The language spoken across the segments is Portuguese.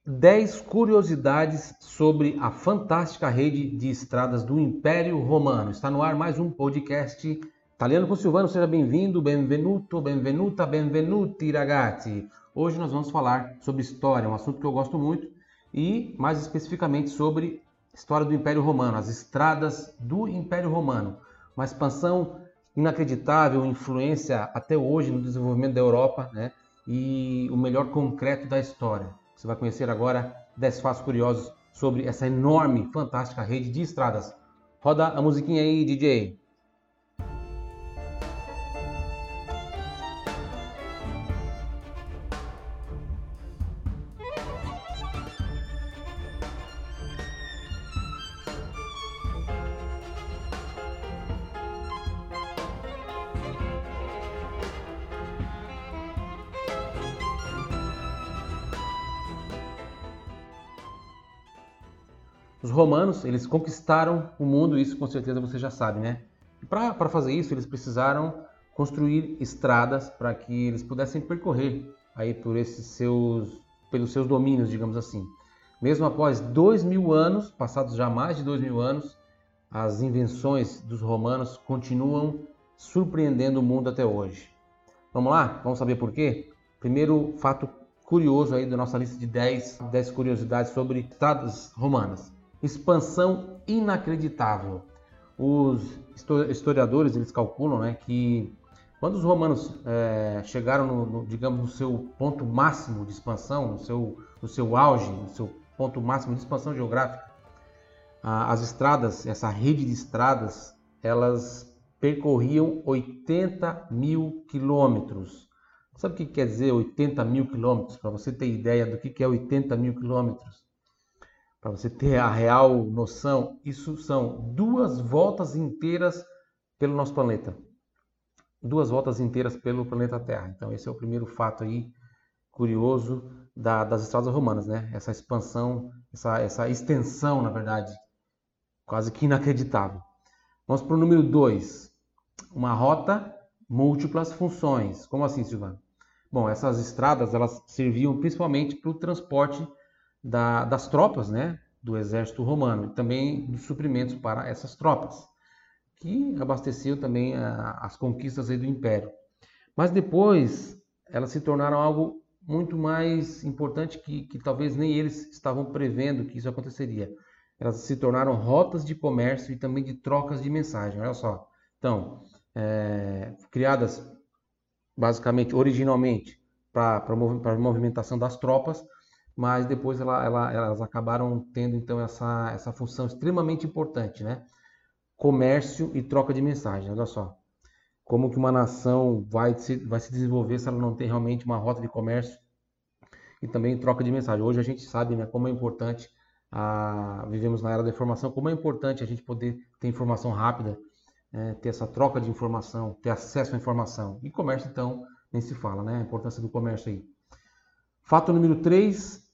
10 curiosidades sobre a fantástica rede de estradas do Império Romano. Está no ar mais um podcast Italiano com Silvano. Seja bem-vindo, benvenuto, benvenuta, benvenuti ragazzi. Hoje nós vamos falar sobre história, um assunto que eu gosto muito, e mais especificamente sobre história do Império Romano, as estradas do Império Romano. Uma expansão inacreditável, influência até hoje no desenvolvimento da Europa, né? E o melhor concreto da história. Você vai conhecer agora 10 fatos curiosos sobre essa enorme, fantástica rede de estradas. Roda a musiquinha aí, DJ. Os romanos, eles conquistaram o mundo, isso com certeza você já sabe, né? E para fazer isso, eles precisaram construir estradas para que eles pudessem percorrer aí pelos seus domínios, digamos assim. Mesmo após 2000 anos, passados já mais de 2000 anos, as invenções dos romanos continuam surpreendendo o mundo até hoje. Vamos lá? Vamos saber por quê? Primeiro fato curioso aí da nossa lista de 10 curiosidades sobre estradas romanas. Expansão inacreditável. Os historiadores eles calculam, né, que quando os romanos chegaram digamos, no seu ponto máximo de expansão, no seu auge, no seu ponto máximo de expansão geográfica, as estradas, essa rede de estradas, elas percorriam 80 mil quilômetros. Sabe o que quer dizer 80 mil quilômetros? Para você ter ideia do que é 80 mil quilômetros? Para você ter a real noção, isso são 2 voltas inteiras pelo nosso planeta. 2 voltas inteiras pelo planeta Terra. Então esse é o primeiro fato aí curioso das estradas romanas, né? Essa expansão, essa extensão, na verdade, quase que inacreditável. Vamos para o número 2. Uma rota, múltiplas funções. Como assim, Silvano? Bom, essas estradas elas serviam principalmente para o transporte das tropas, né, do exército romano e também dos suprimentos para essas tropas, que abasteciam também as conquistas aí do Império. Mas depois elas se tornaram algo muito mais importante que talvez nem eles estavam prevendo que isso aconteceria. Elas se tornaram rotas de comércio e também de trocas de mensagem. Olha só. Então, criadas basicamente, originalmente, para a movimentação das tropas, mas depois elas acabaram tendo então essa função extremamente importante, né? Comércio e troca de mensagem. Olha só, como que uma nação vai se desenvolver se ela não tem realmente uma rota de comércio e também troca de mensagem. Hoje a gente sabe, né, como é importante, vivemos na era da informação, como é importante a gente poder ter informação rápida, ter essa troca de informação, ter acesso à informação. E comércio, então, nem se fala, né? A importância do comércio aí. Fato número 3.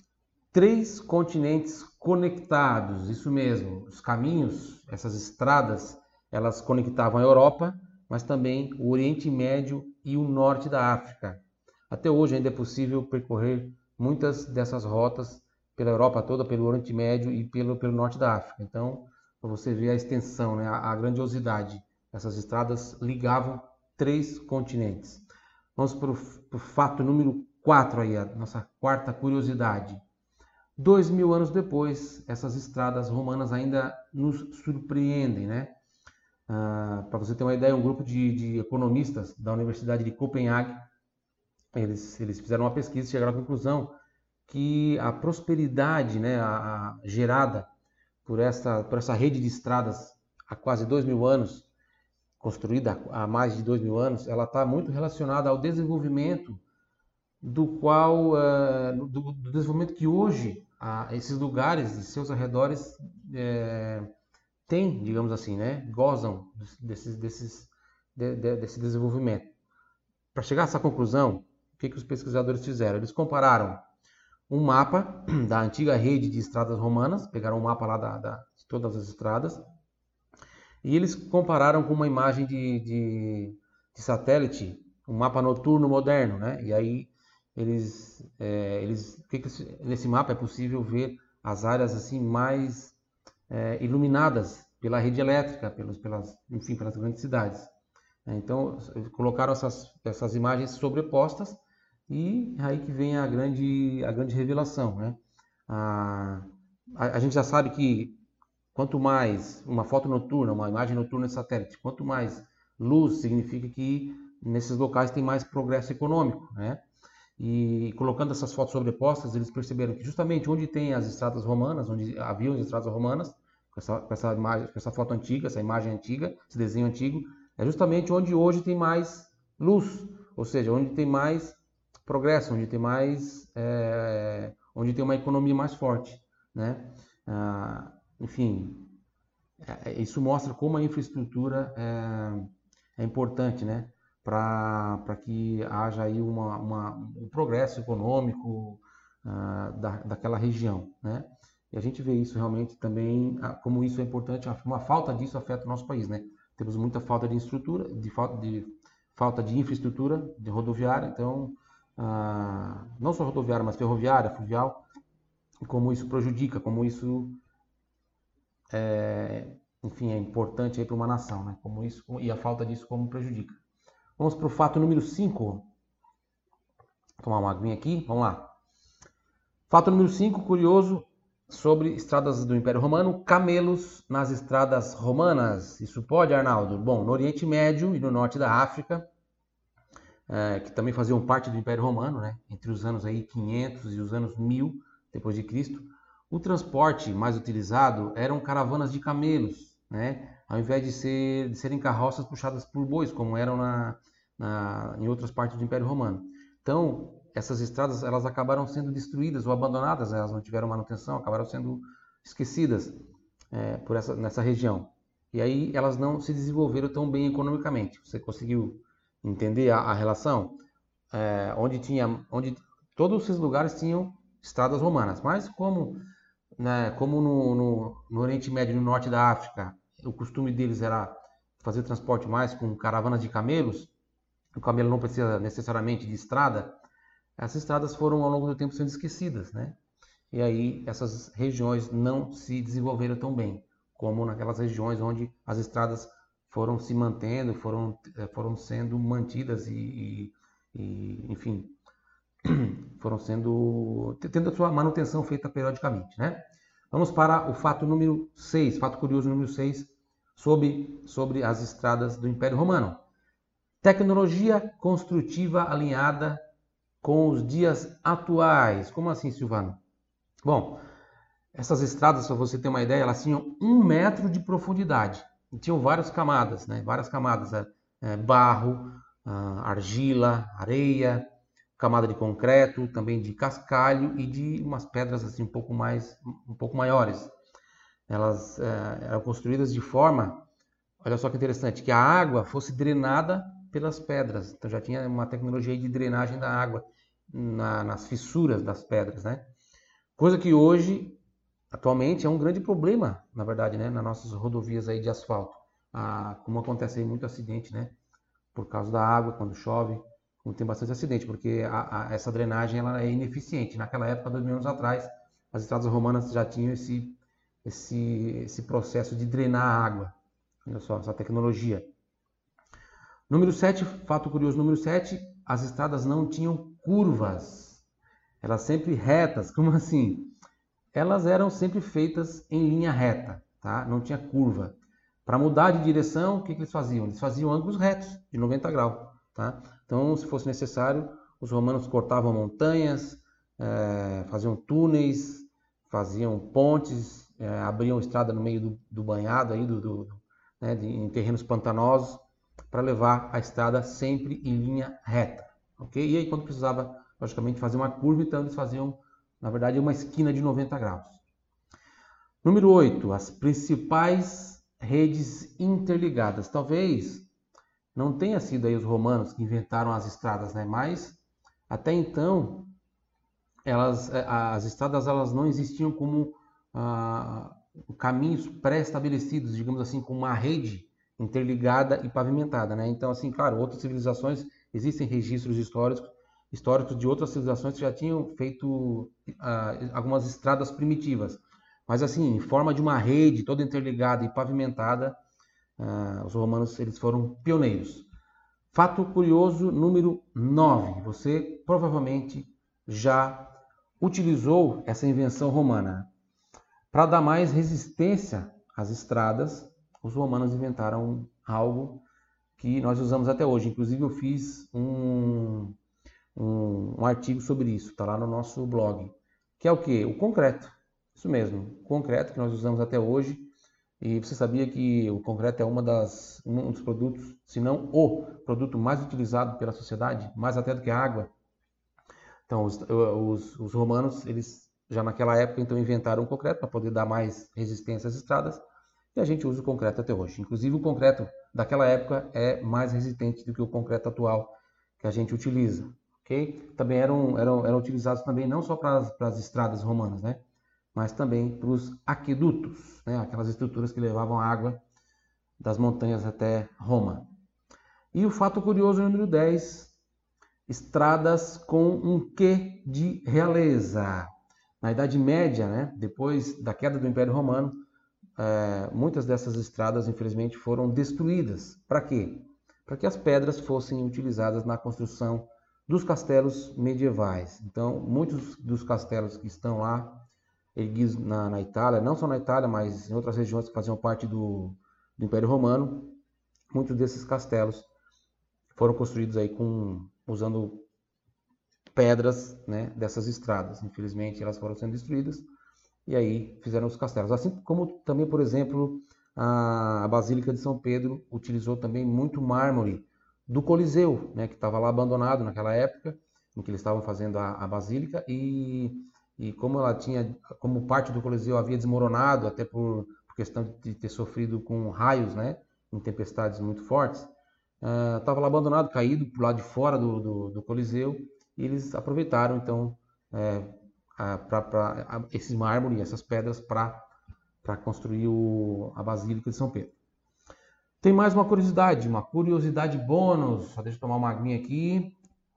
3 continentes conectados, isso mesmo. Os caminhos, essas estradas, elas conectavam a Europa, mas também o Oriente Médio e o Norte da África. Até hoje ainda é possível percorrer muitas dessas rotas pela Europa toda, pelo Oriente Médio e pelo Norte da África. Então, para você ver a extensão, né, a grandiosidade, essas estradas ligavam 3 continentes. Vamos para o fato número 4 aí, a nossa quarta curiosidade. 2000 anos depois, essas estradas romanas ainda nos surpreendem, né? Para você ter uma ideia, um grupo de economistas da Universidade de Copenhague, eles fizeram uma pesquisa e chegaram à conclusão que a prosperidade, né, gerada por essa rede de estradas há quase 2000 anos, construída há mais de 2000 anos, ela está muito relacionada ao desenvolvimento do desenvolvimento que hoje esses lugares e seus arredores têm, digamos assim, né, gozam desse desenvolvimento. Para chegar a essa conclusão, o que os pesquisadores fizeram? Eles compararam um mapa da antiga rede de estradas romanas, pegaram um mapa lá de todas as estradas, e eles compararam com uma imagem de satélite, um mapa noturno moderno, né? E aí nesse mapa é possível ver as áreas assim mais iluminadas pela rede elétrica, pelas grandes cidades. Então, colocaram essas imagens sobrepostas e aí que vem a grande revelação, né? A gente já sabe que quanto mais uma foto noturna, uma imagem noturna de satélite, quanto mais luz, significa que nesses locais tem mais progresso econômico, né? E colocando essas fotos sobrepostas, eles perceberam que justamente onde tem as estradas romanas, onde haviam as estradas romanas, com essa imagem, com essa foto antiga, essa imagem antiga, esse desenho antigo, é justamente onde hoje tem mais luz, ou seja, onde tem mais progresso, onde tem uma economia mais forte, né? Enfim, isso mostra como a infraestrutura é importante, né? Para que haja aí um progresso econômico daquela região, né? E a gente vê isso realmente também, como isso é importante, uma falta disso afeta o nosso país, né? Temos muita falta de estrutura, falta de infraestrutura de rodoviária, então, não só rodoviária, mas ferroviária, fluvial, e como isso prejudica, como isso enfim, é importante para uma nação, né? Como isso, e a falta disso como prejudica. Vamos para o fato número 5. Vou tomar uma aguinha aqui, vamos lá. Fato número 5, curioso, sobre estradas do Império Romano, camelos nas estradas romanas. Isso pode, Arnaldo? Bom, no Oriente Médio e no norte da África, que também faziam parte do Império Romano, né? Entre os anos aí 500 e os anos 1000 depois de Cristo, o transporte mais utilizado eram caravanas de camelos, né? Ao invés de serem carroças puxadas por bois, como eram em outras partes do Império Romano. Então, essas estradas elas acabaram sendo destruídas ou abandonadas, né? Elas não tiveram manutenção, acabaram sendo esquecidas nessa região. E aí elas não se desenvolveram tão bem economicamente. Você conseguiu entender a relação? Onde todos esses lugares tinham estradas romanas, mas como no Oriente Médio e no norte da África, o costume deles era fazer transporte mais com caravanas de camelos, o camelo não precisa necessariamente de estrada, essas estradas foram ao longo do tempo sendo esquecidas, né? E aí essas regiões não se desenvolveram tão bem como naquelas regiões onde as estradas foram se mantendo, foram sendo mantidas enfim, foram tendo a sua manutenção feita periodicamente, né? Vamos para o fato número 6, fato curioso número 6, sobre as estradas do Império Romano. Tecnologia construtiva alinhada com os dias atuais. Como assim, Silvano? Bom, essas estradas, para você ter uma ideia, elas tinham 1 metro de profundidade. E tinham várias camadas, né? Várias camadas, barro, argila, areia, camada de concreto, também de cascalho e de umas pedras assim um pouco maiores. Elas eram construídas de forma, olha só que interessante, que a água fosse drenada pelas pedras. Então já tinha uma tecnologia de drenagem da água nas fissuras das pedras, né? Coisa que hoje, atualmente, é um grande problema, na verdade, né? Nas nossas rodovias aí de asfalto. Como acontece aí muito acidente, né? Por causa da água, quando chove, tem bastante acidente, porque essa drenagem ela é ineficiente. Naquela época, 2000 anos atrás, as estradas romanas já tinham esse processo de drenar a água. Olha só, essa tecnologia. Número 7, fato curioso número 7, as estradas não tinham curvas. Elas sempre retas. Como assim? Elas eram sempre feitas em linha reta, tá? Não tinha curva. Para mudar de direção, o que eles faziam? Eles faziam ângulos retos, de 90 graus, tá? Então, se fosse necessário, os romanos cortavam montanhas, faziam túneis, faziam pontes, abriam estrada no meio do banhado, aí, né, em terrenos pantanosos, para levar a estrada sempre em linha reta, ok? E aí, quando precisava, logicamente, fazer uma curva, então eles faziam, na verdade, uma esquina de 90 graus. Número 8, as principais redes interligadas. Talvez não tenha sido aí os romanos que inventaram as estradas, né? Mas até então as estradas elas não existiam como caminhos pré-estabelecidos, digamos assim, com uma rede interligada e pavimentada, né? Então, assim, claro, outras civilizações existem registros históricos históricos de outras civilizações que já tinham feito algumas estradas primitivas. Mas assim, em forma de uma rede toda interligada e pavimentada, os romanos eles foram pioneiros. Fato curioso número 9. Você provavelmente já utilizou essa invenção romana. Para dar mais resistência às estradas, os romanos inventaram algo que nós usamos até hoje. Inclusive eu fiz um artigo sobre isso, está lá no nosso blog. Que é o quê? O concreto. Isso mesmo, o concreto que nós usamos até hoje. E você sabia que o concreto é um dos produtos, se não o produto mais utilizado pela sociedade, mais até do que a água? Então, os romanos, eles já naquela época, então, inventaram o concreto para poder dar mais resistência às estradas, e a gente usa o concreto até hoje. Inclusive, o concreto daquela época é mais resistente do que o concreto atual que a gente utiliza. Okay? Também eram utilizados também não só para as estradas romanas, né? Mas também para os aquedutos, né? Aquelas estruturas que levavam água das montanhas até Roma. E o fato curioso número 10, estradas com um quê de realeza. Na Idade Média, né, depois da queda do Império Romano, muitas dessas estradas, infelizmente, foram destruídas. Para quê? Para que as pedras fossem utilizadas na construção dos castelos medievais. Então, muitos dos castelos que estão lá, erguidos na Itália, não só na Itália, mas em outras regiões que faziam parte do Império Romano, muitos desses castelos foram construídos aí usando pedras, né, dessas estradas. Infelizmente, elas foram sendo destruídas e aí fizeram os castelos. Assim como também, por exemplo, a Basílica de São Pedro utilizou também muito mármore do Coliseu, né, que estava lá abandonado naquela época, em que eles estavam fazendo a Basílica, e como ela tinha, como parte do Coliseu havia desmoronado, até por questão de ter sofrido com raios, né, em tempestades muito fortes, estava lá abandonado, caído por lado de fora do Coliseu, e eles aproveitaram então esses mármores, essas pedras para construir a Basílica de São Pedro. Tem mais uma curiosidade bônus. Só deixa eu tomar uma aguinha aqui.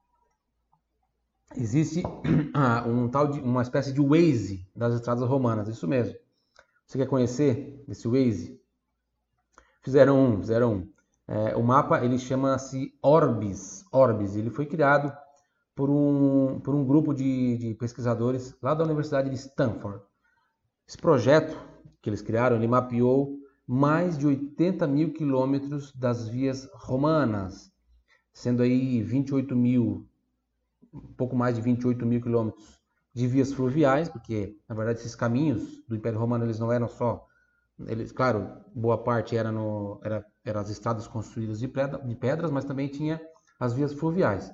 Existe uma espécie de Waze das estradas romanas, isso mesmo. Você quer conhecer esse Waze? Fizeram um. O mapa ele chama-se Orbis. Ele foi criado por um grupo de pesquisadores lá da Universidade de Stanford. Esse projeto que eles criaram, ele mapeou mais de 80 mil quilômetros das vias romanas, sendo aí 28 mil, um pouco mais de 28 mil quilômetros de vias fluviais, porque na verdade esses caminhos do Império Romano eles não eram só, claro, boa parte eram as estradas construídas de pedras, mas também tinha as vias fluviais.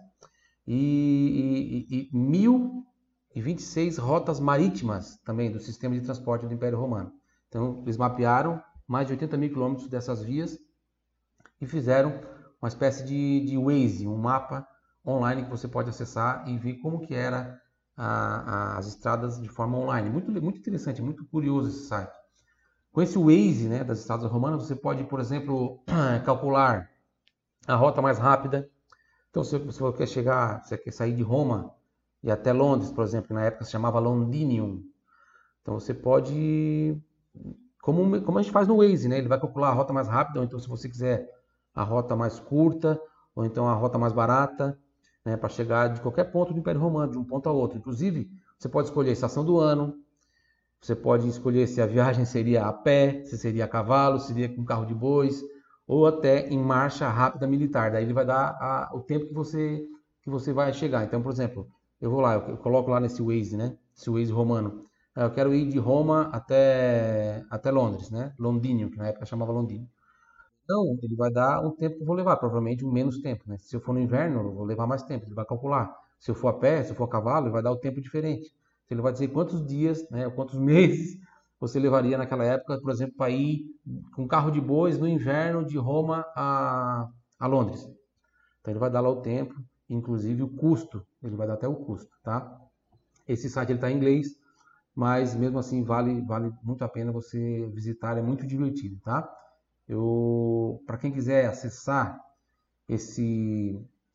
E 1.026 rotas marítimas também do sistema de transporte do Império Romano. Então, eles mapearam mais de 80 mil quilômetros dessas vias e fizeram uma espécie de Waze, um mapa online que você pode acessar e ver como que era as estradas de forma online. Muito interessante, muito curioso esse site. Com esse Waze, né, das estradas romanas, você pode, por exemplo, calcular a rota mais rápida. Então, se você quer sair de Roma e até Londres, por exemplo, que na época se chamava Londinium. Então, você pode, como a gente faz no Waze, né? Ele vai calcular a rota mais rápida, ou então se você quiser a rota mais curta, ou então a rota mais barata, né, para chegar de qualquer ponto do Império Romano, de um ponto a outro. Inclusive, você pode escolher a estação do ano, você pode escolher se a viagem seria a pé, se seria a cavalo, se seria com carro de bois, ou até em marcha rápida militar. Daí ele vai dar o tempo que você vai chegar. Então, por exemplo, eu vou lá, eu coloco lá nesse Waze, né? Esse Waze romano. Eu quero ir de Roma até Londres, né? Londínio, que na época chamava Londínio. Então, ele vai dar um tempo que eu vou levar, provavelmente menos tempo, né? Se eu for no inverno, eu vou levar mais tempo, ele vai calcular. Se eu for a pé, se eu for a cavalo, ele vai dar o tempo diferente. Então, ele vai dizer quantos dias, né, quantos meses você levaria naquela época, por exemplo, para ir com carro de bois no inverno de Roma a Londres. Então, ele vai dar lá o tempo, inclusive o custo, ele vai dar até o custo, tá? Esse site está em inglês, mas mesmo assim vale muito a pena você visitar, é muito divertido, tá? Para quem quiser acessar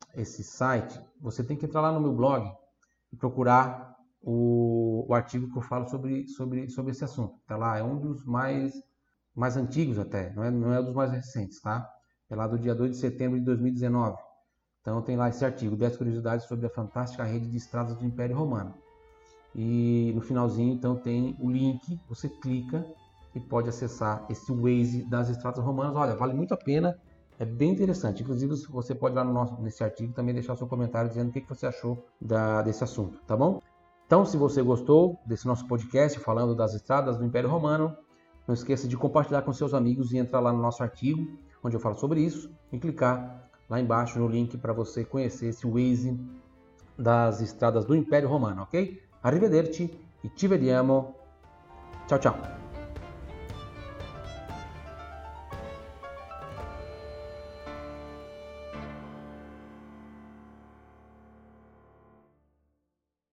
esse site, você tem que entrar lá no meu blog e procurar o artigo que eu falo sobre esse assunto. Tá lá, é um dos mais antigos até, não é dos mais recentes, tá? É lá do dia 2 de setembro de 2019. Então tem lá esse artigo, 10 curiosidades sobre a fantástica rede de estradas do Império Romano. E no finalzinho, então, tem o link, você clica e pode acessar esse Waze das estradas romanas. Olha, vale muito a pena, é bem interessante. Inclusive, você pode ir lá nesse artigo também deixar seu comentário dizendo o que você achou desse assunto, tá bom? Então, se você gostou desse nosso podcast falando das estradas do Império Romano, não esqueça de compartilhar com seus amigos e entrar lá no nosso artigo, onde eu falo sobre isso, e clicar lá embaixo no link para você conhecer esse Waze das estradas do Império Romano, ok? Arrivederci e ci vediamo. Ciao ciao.